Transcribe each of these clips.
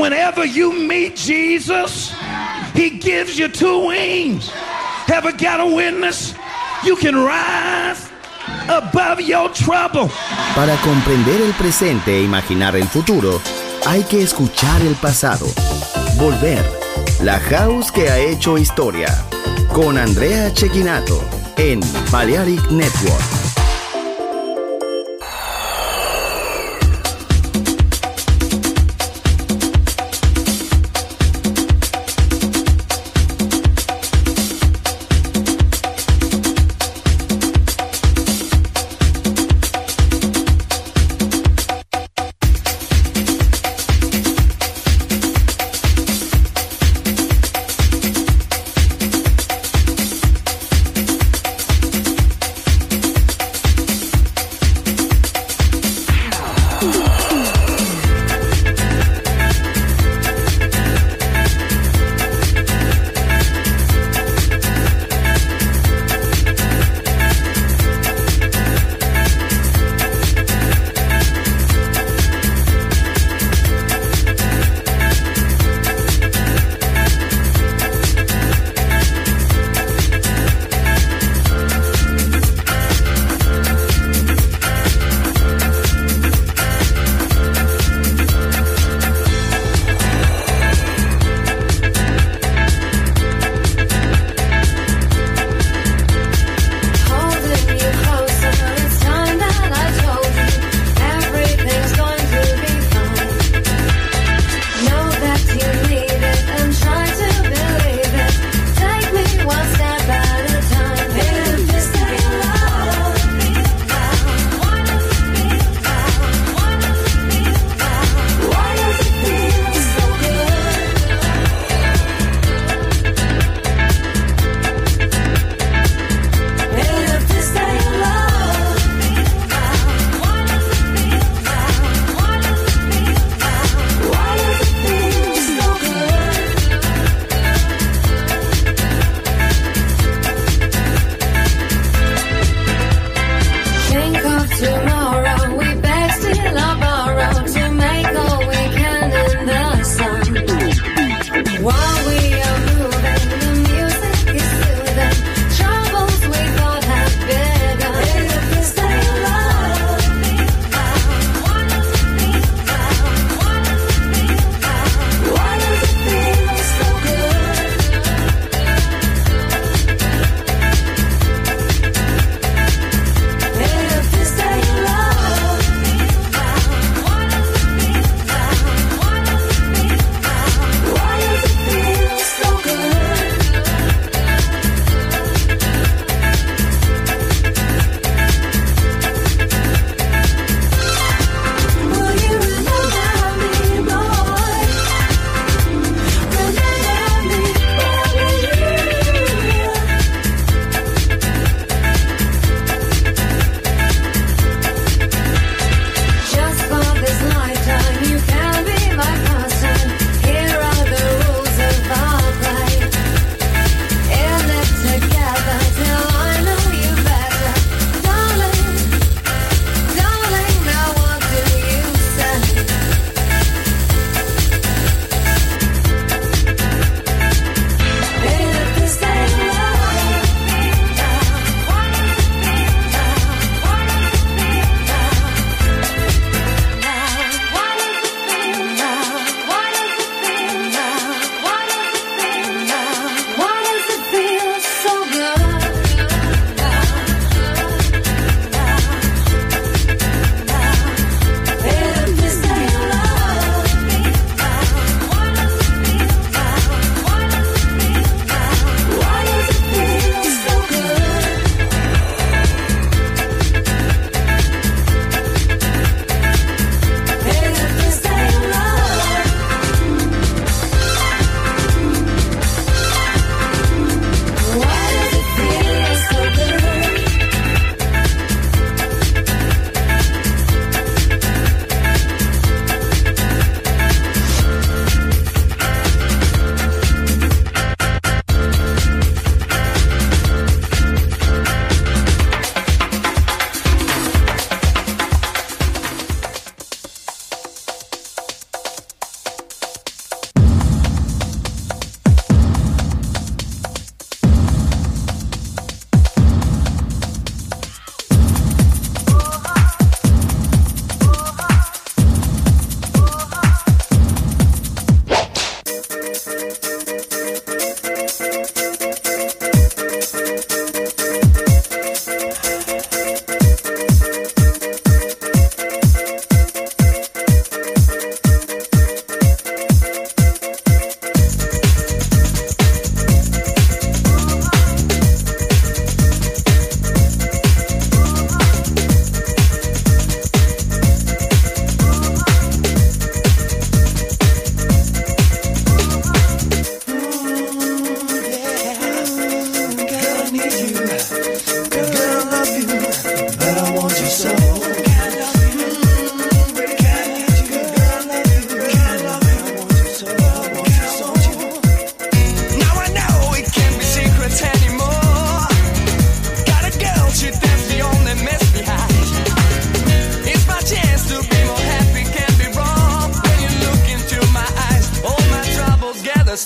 whenever you meet Jesus, he gives you two wings. Ever got a witness? You can rise above your trouble. Para comprender el presente e imaginar el futuro, hay que escuchar el pasado. Volver. La House que ha hecho historia. Con Andrea Cecchinato en Balearic Network.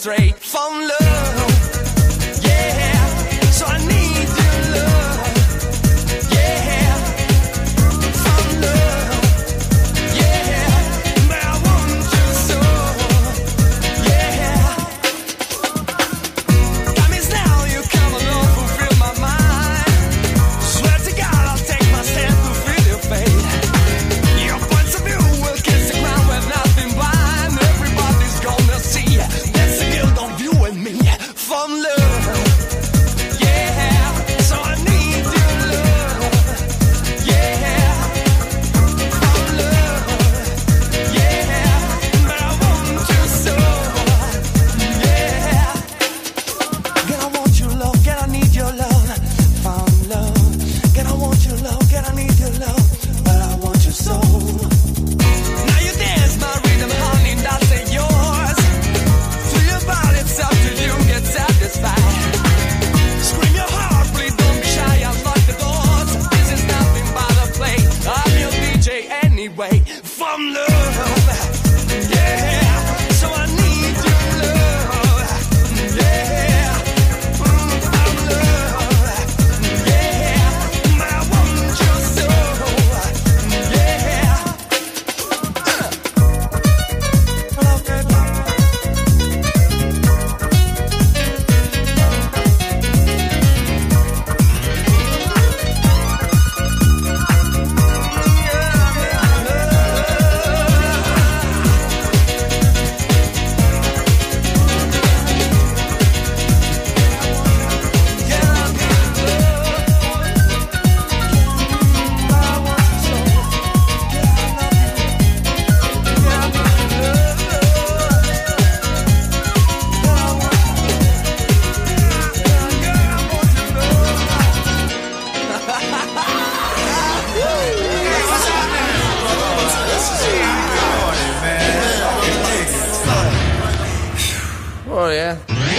straight from love. Yeah, so I need your love. Yeah, from love. Yeah, but I want you so. Yeah, promise now you come along, fulfill my mind. Swear to God I'll take my stand to feel your fate. Your points of view will kiss the ground with nothing blind. Everybody's gonna see that's the guilt of you and me from love. Yeah, so I need your love. Yeah, from love. Yeah, but I want you so. Yeah, girl, I want your love, girl, I need your love. From love, girl, I want your love, girl, I need your love, but I want you so. Now you dance my rhythm, honey, that's it yours. To your body, it's up to you, get satisfied. Scream your heart, please don't be shy, unlock the doors. This is nothing but a play, I'm your DJ anyway. From love, yeah, so I need your love. Yeah, from love, yeah, but I want you so. Yeah, love, baby. Oh yeah.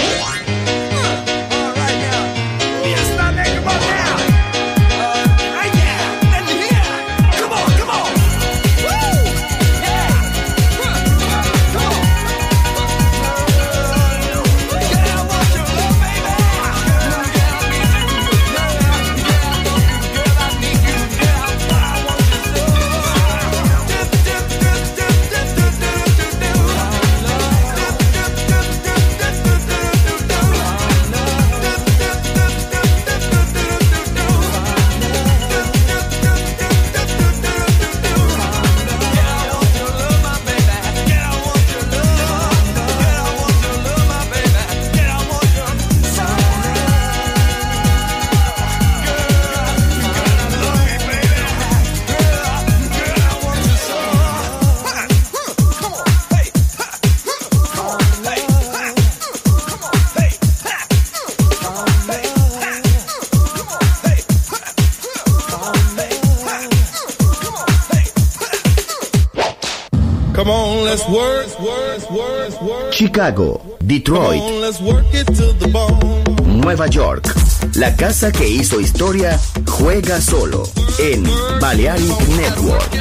Come on, let's work. Chicago, Detroit, Come on, let's work it to the bone. Nueva York. La casa que hizo historia juega solo en Balearic Network.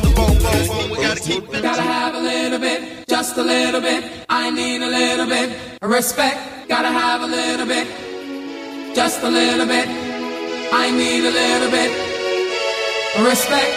Gotta have a little bit, just a little bit. I need a little bit of respect. Gotta have a little bit, just a little bit. I need a little bit of respect.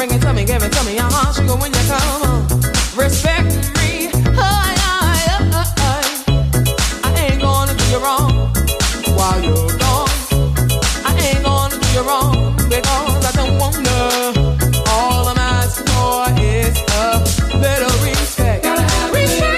bring it to me, give it to me. Sugar, when you come home, respect me. I ain't gonna do you wrong while you're gone. I ain't gonna do you wrong because I don't wanna. All I'm asking for is a little respect. Gotta have respect.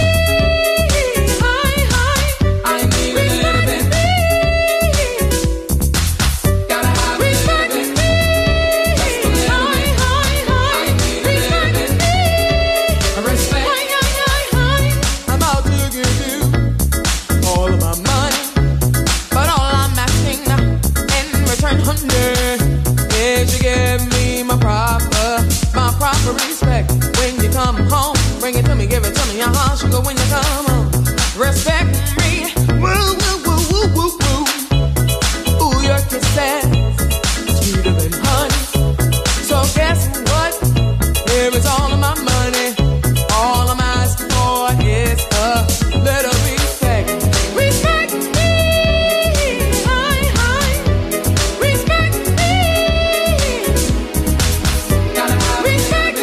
Respect when you come home. Bring it to me, give it to me. Sugar, when you come home. Respect me. Woo, woo, woo, woo, woo, woo. Ooh, your kisses sweeter than honey. So guess what? Here is all of my money. All I'm asking for is a little respect. Respect me. Respect me. Gotta have respect.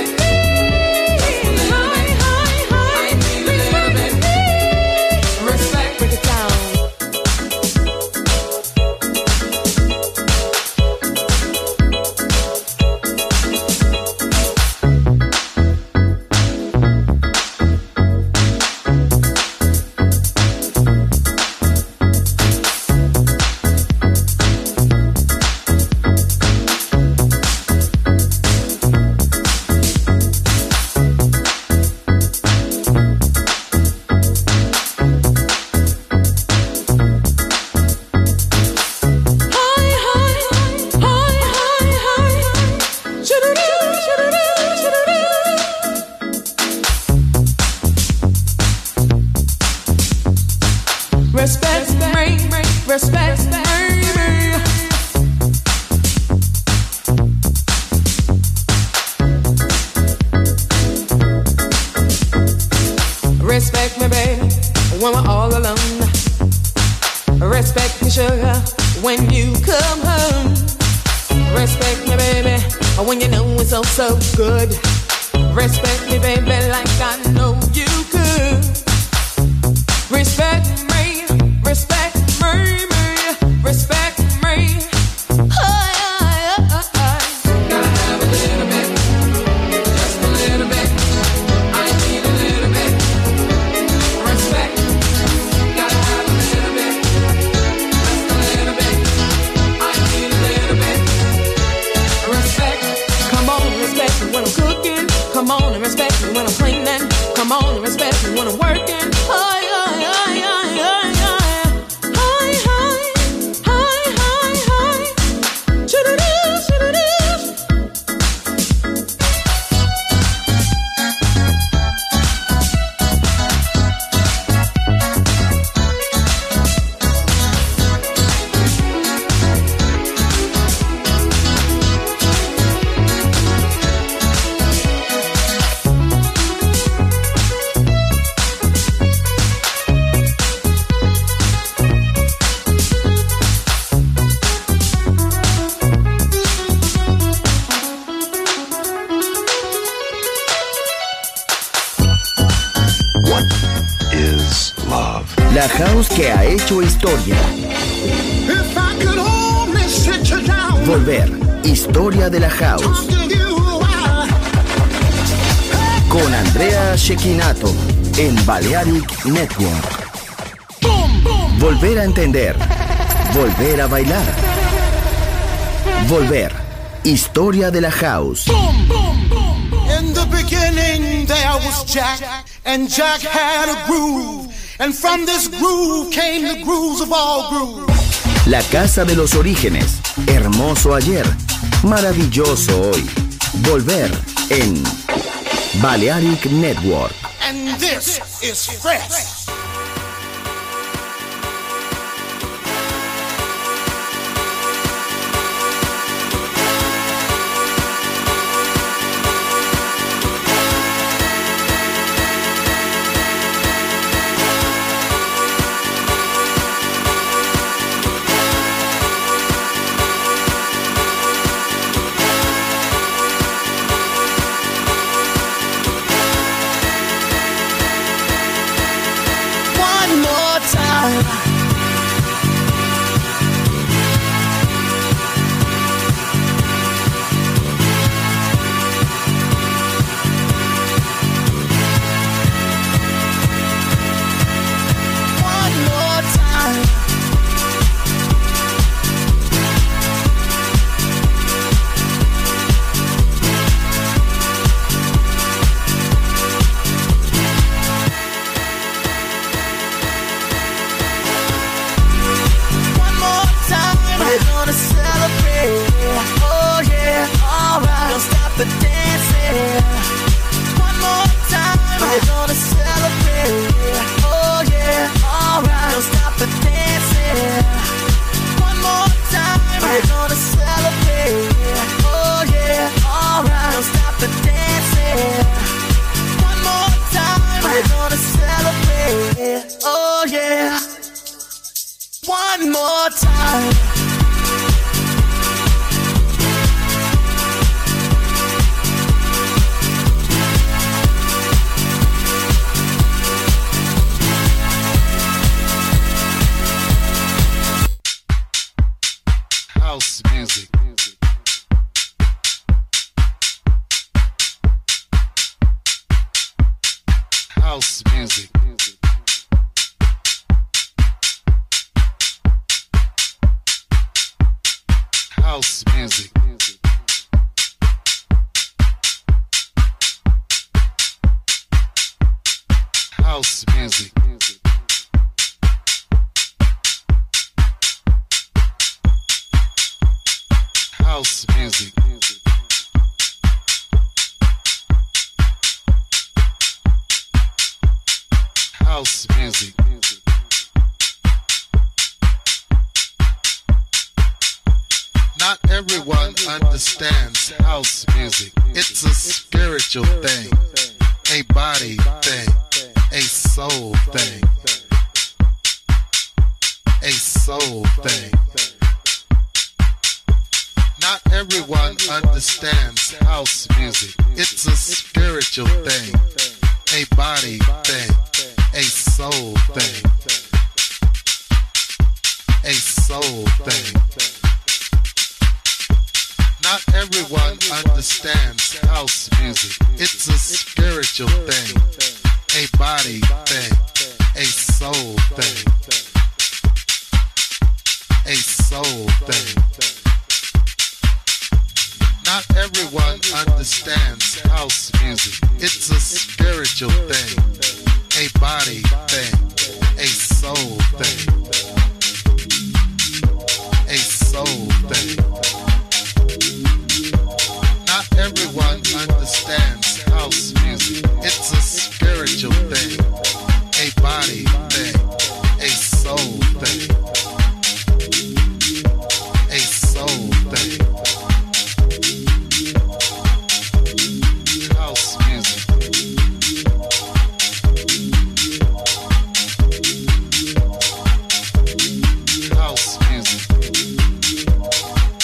Respect me, baby, when we're all alone. Respect me, sugar, when you come home. Respect me, baby, when you know it's so, so good. Respect me, baby, like I know you could. Respect me, respect me, respect me. Gotta have a little bit, just a little bit. I need a little bit. Respect, gotta have a little bit, just a little bit. I need a little bit. Respect, come on and respect me when I'm cooking. Come on and respect me when I'm cleaning. Come on and respect me when I'm working. La house que ha hecho historia. Volver, historia de la house. Con Andrea Cecchinato en Balearic Network. Volver a entender. Volver a bailar. Volver, historia de la house. In the beginning there was Jack, and Jack had a groove. And from this groove came the grooves of all grooves. La casa de los orígenes, hermoso ayer, maravilloso hoy. Volver en Balearic Network. And this is fresh. House music. House music. House music. House music. House music. Not everyone understands house music. It's a spiritual thing, a body thing, a soul thing, a soul thing. Not everyone understands house music. It's a spiritual thing, a body thing, a soul thing, a soul thing. Not everyone understands house music. It's a spiritual thing, a body thing, a soul thing, a soul thing. Not everyone understands house music. It's a spiritual thing, a body thing, a soul thing, a soul thing. Not everyone understands house music. It's a spiritual thing, a body thing, a soul thing, a soul thing. House music. House music.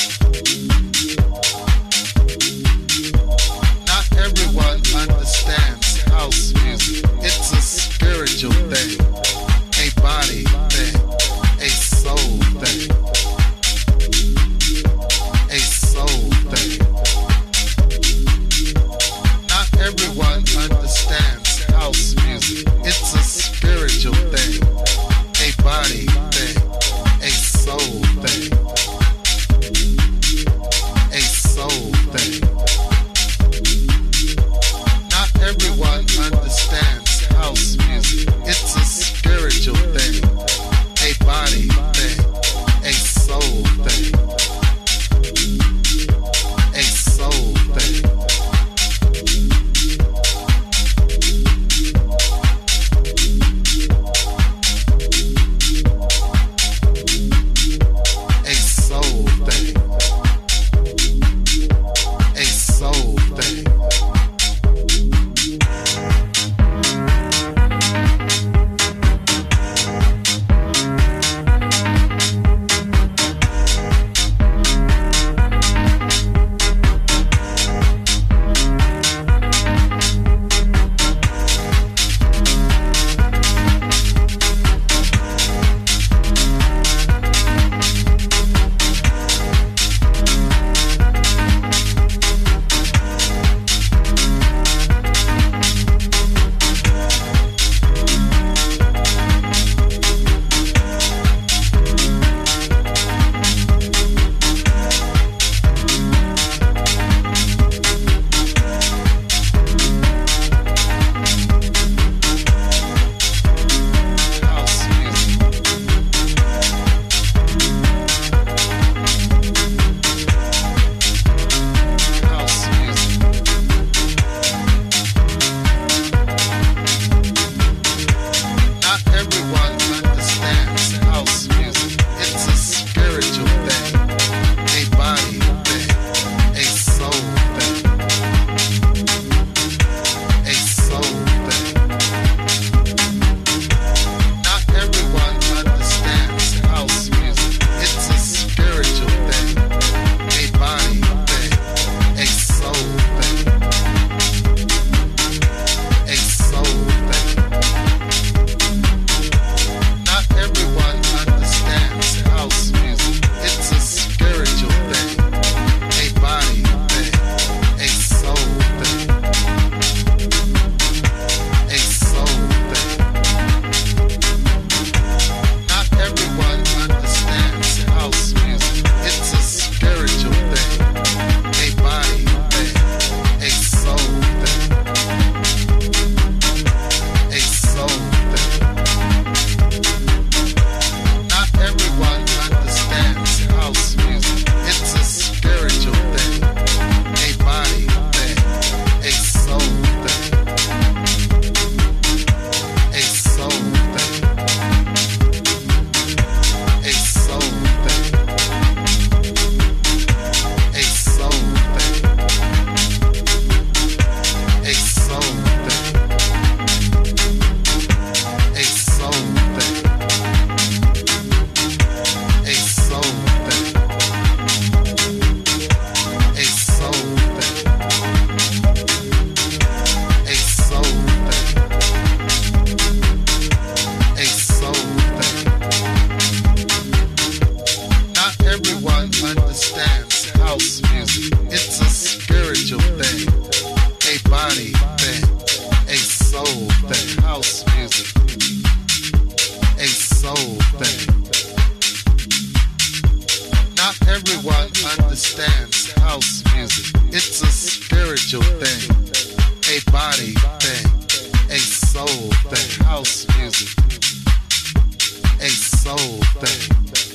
understands house music. It's a spiritual thing, a body thing, a soul thing. House music, a soul thing.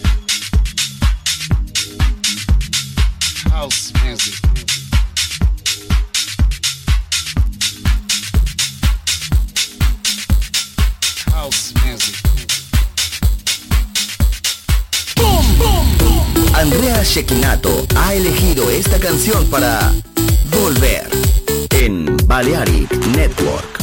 House music. House music. Andrea Cecchinato ha elegido esta canción para Volver en Balearic Network.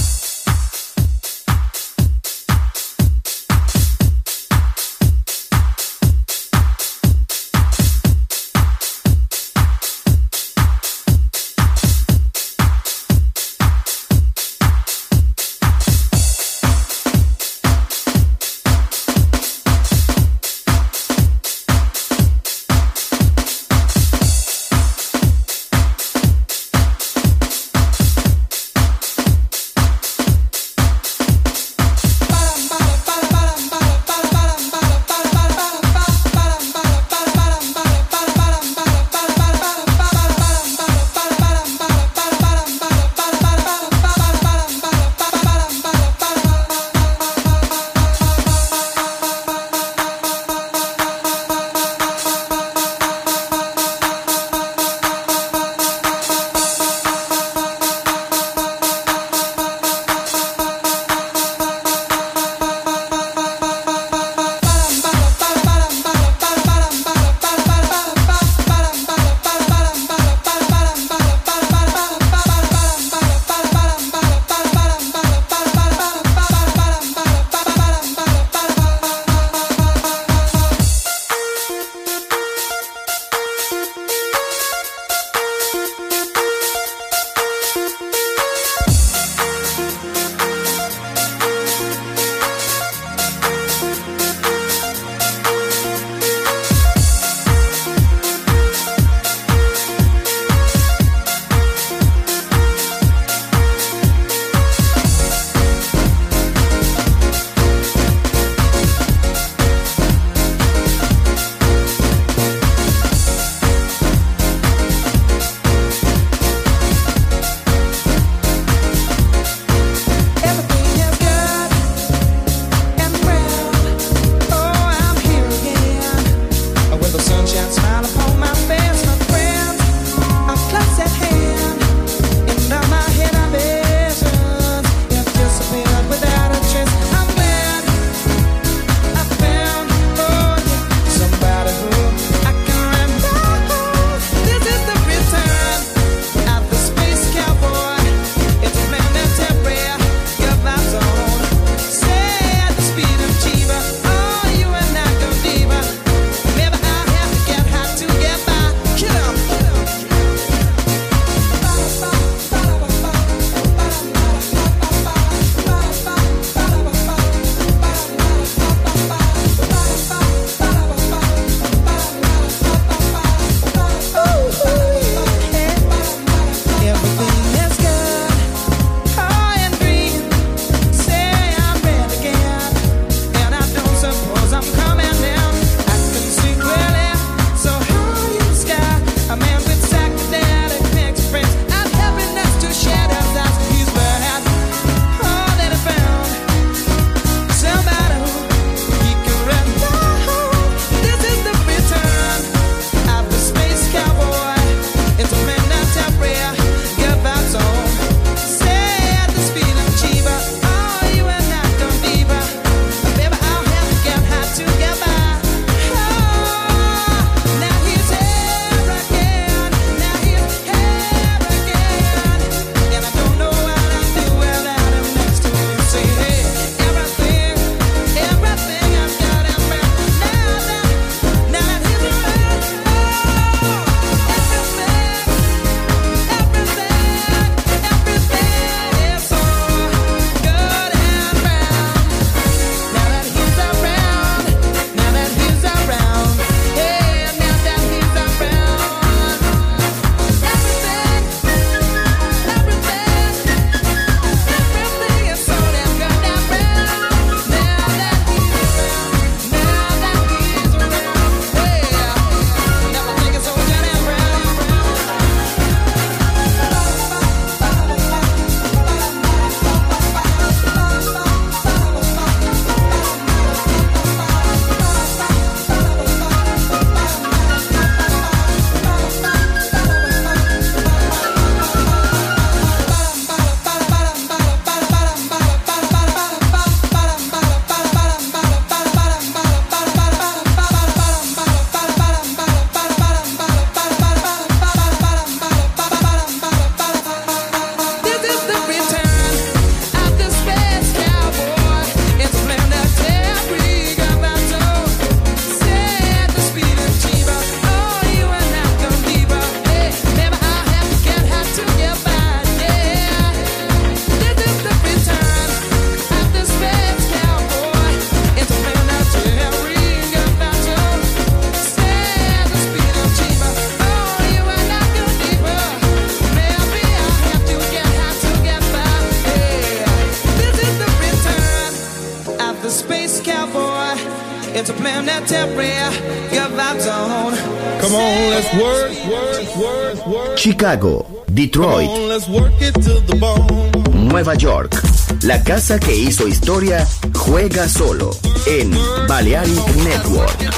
It's a plan that temporary, your vibes on. Come on, let's work. Chicago, Detroit, Come on, let's work it to the bone. Nueva York. La casa que hizo historia juega solo en Balearic Network.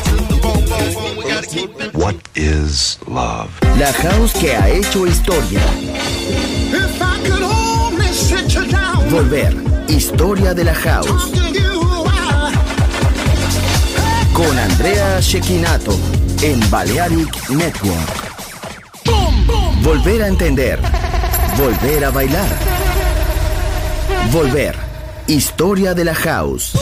What is love? La house que ha hecho historia. If I could only sit you down, Volver, historia de la house. talk to you while Con Andrea Cecchinato en Balearic Network. Volver a entender. Volver a bailar. Volver, historia de la house.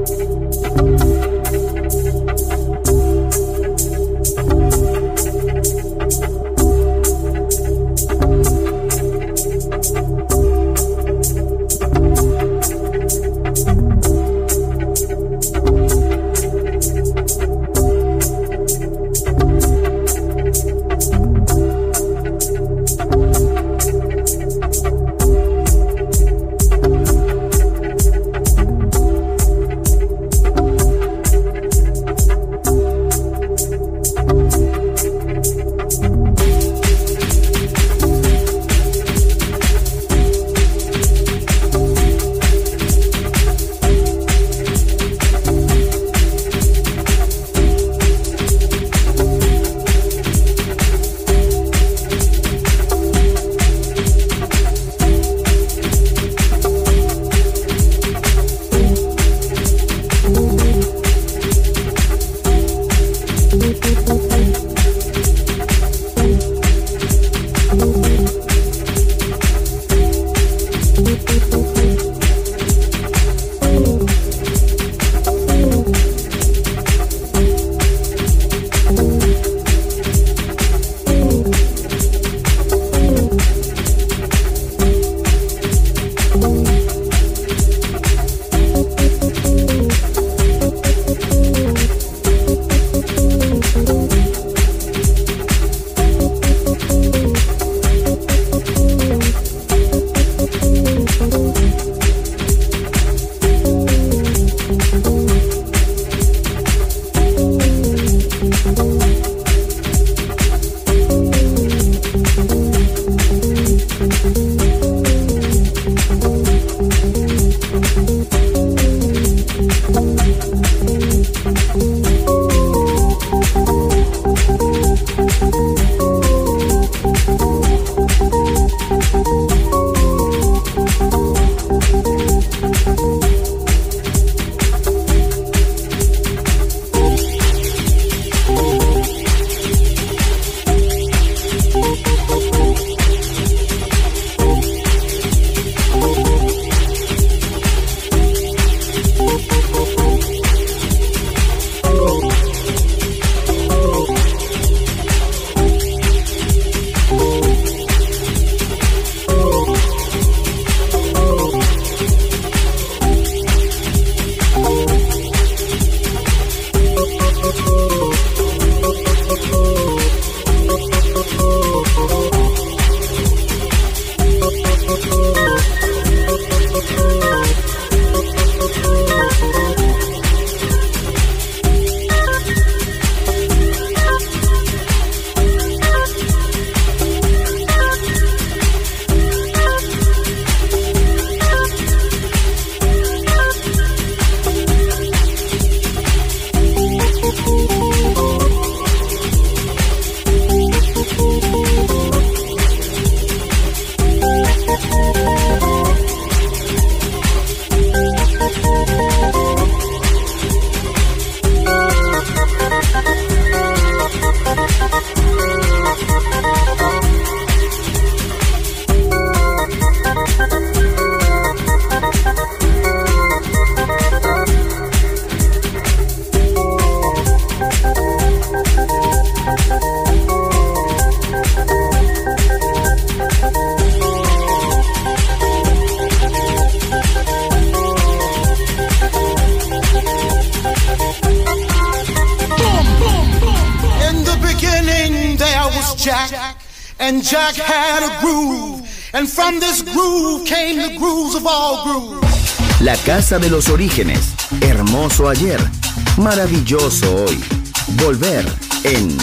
Jack, and Jack had a groove, and from this groove came the grooves of all grooves. La casa de los orígenes, hermoso ayer, maravilloso hoy. Volver en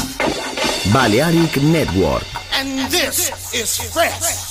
Balearic Network. And this is fresh.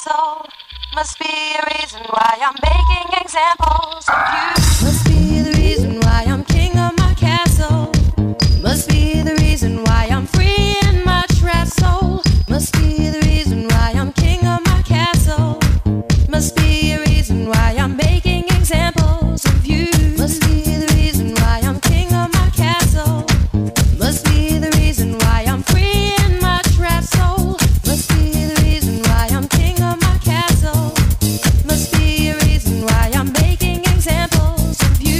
castle. Must be a reason why I'm making examples of you. Must be the reason why I'm king of my castle. Must be the reason why I'm free in my trapped soul. Must be the reason why I'm king of my castle. Must be a reason why I'm making examples of you. Must be the reason why I'm king of my castle. Must be the reason why I'm free in my trapped soul. Must be the reason why I'm king of my castle. Must be a reason why I'm making examples of you.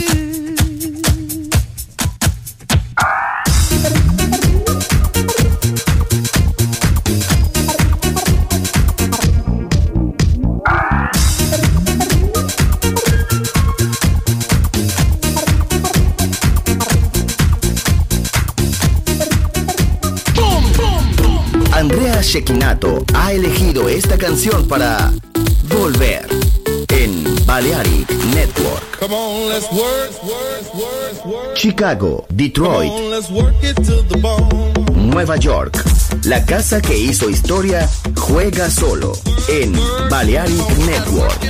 Andrea Cecchinato ha elegido esta canción para Volver en Balearic Network. Come on, let's work. Chicago, Detroit, Come on, let's work it to the bone. Nueva York. La casa que hizo historia juega solo en Balearic Network.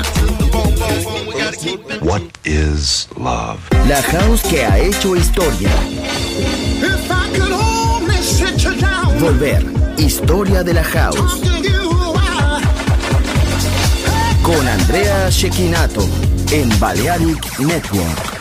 What is love? La house que ha hecho historia. If I could only sit you down, Volver, historia de la house. talk to you while Con Andrea Cecchinato en Balearic Network.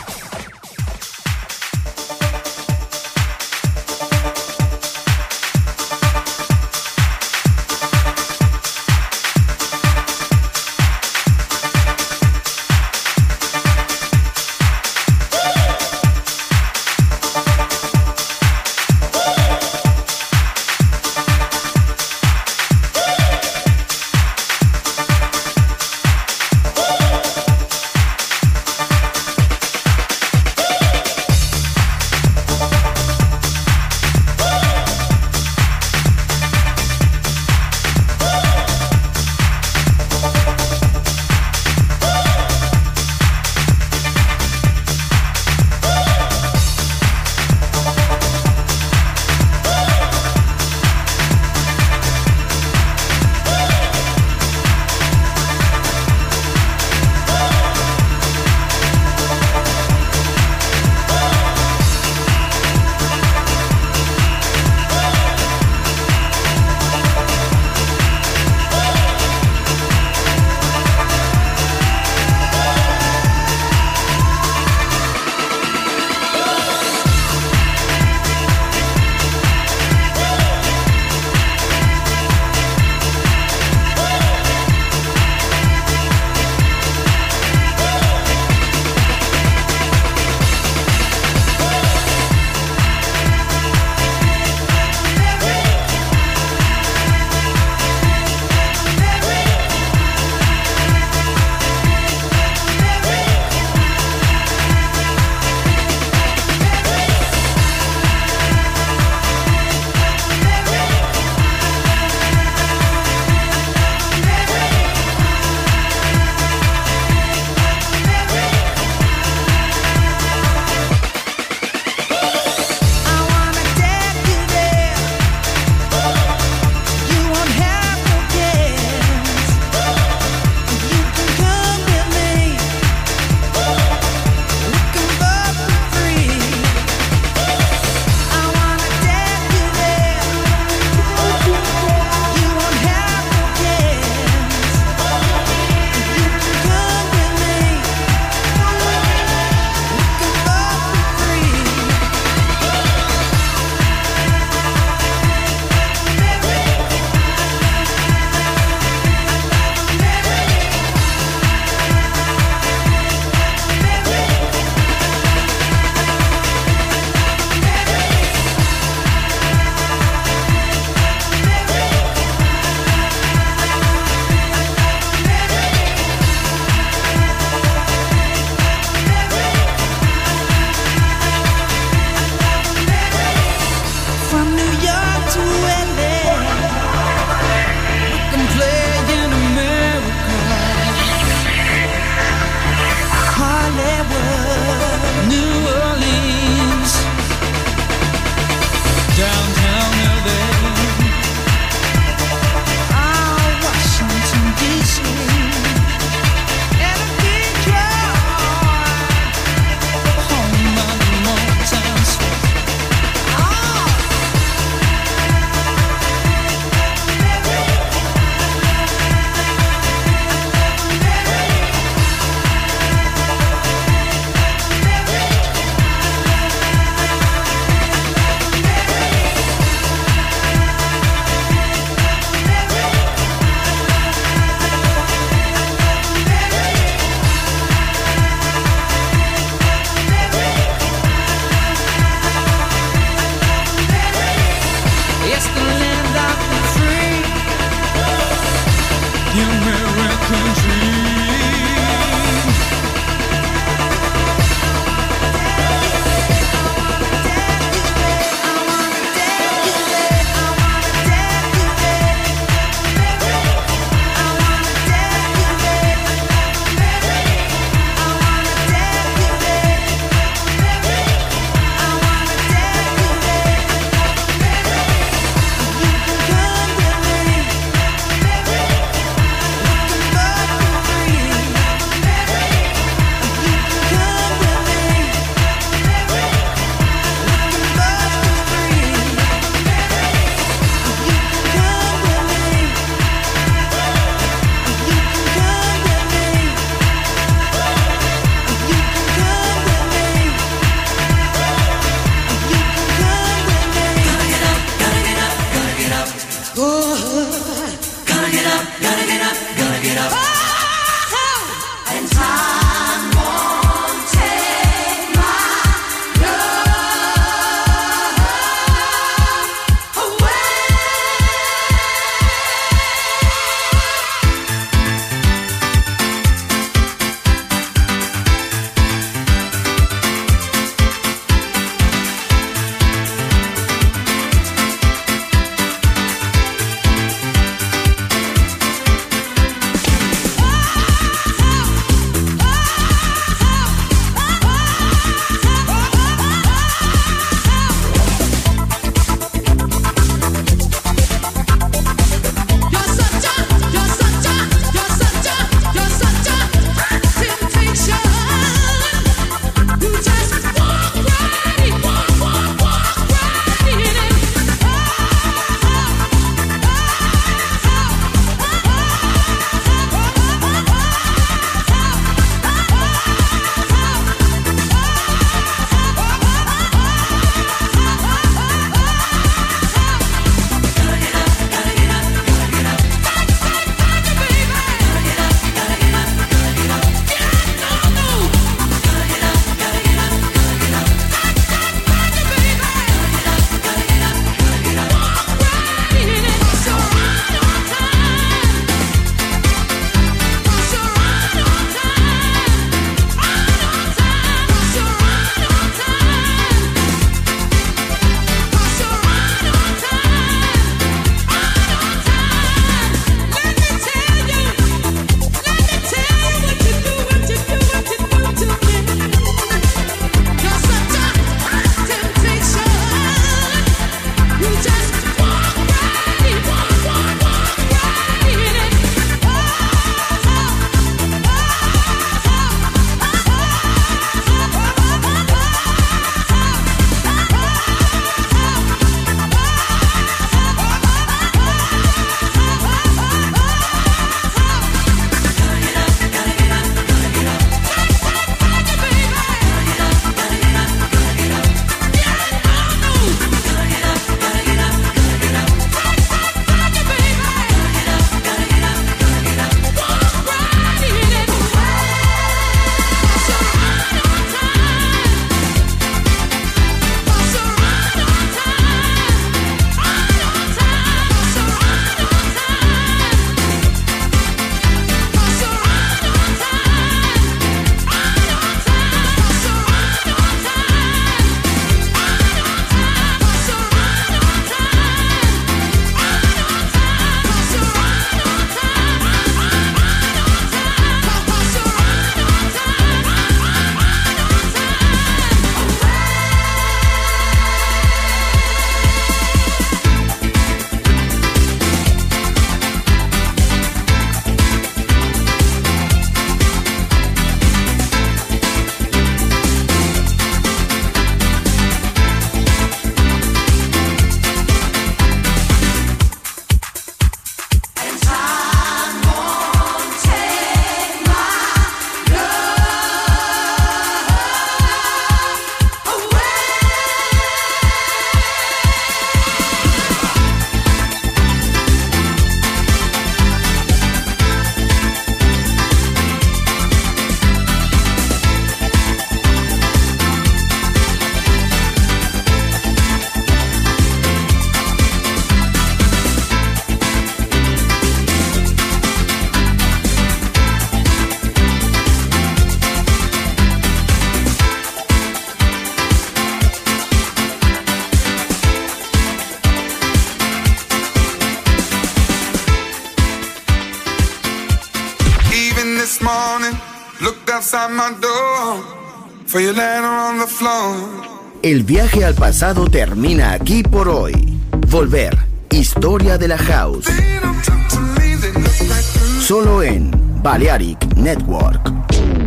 outside my door, for you laying on the floor. El viaje al pasado termina aquí por hoy. Volver, historia de la house. They don't talk to me, they look right through. Solo en Balearic Network.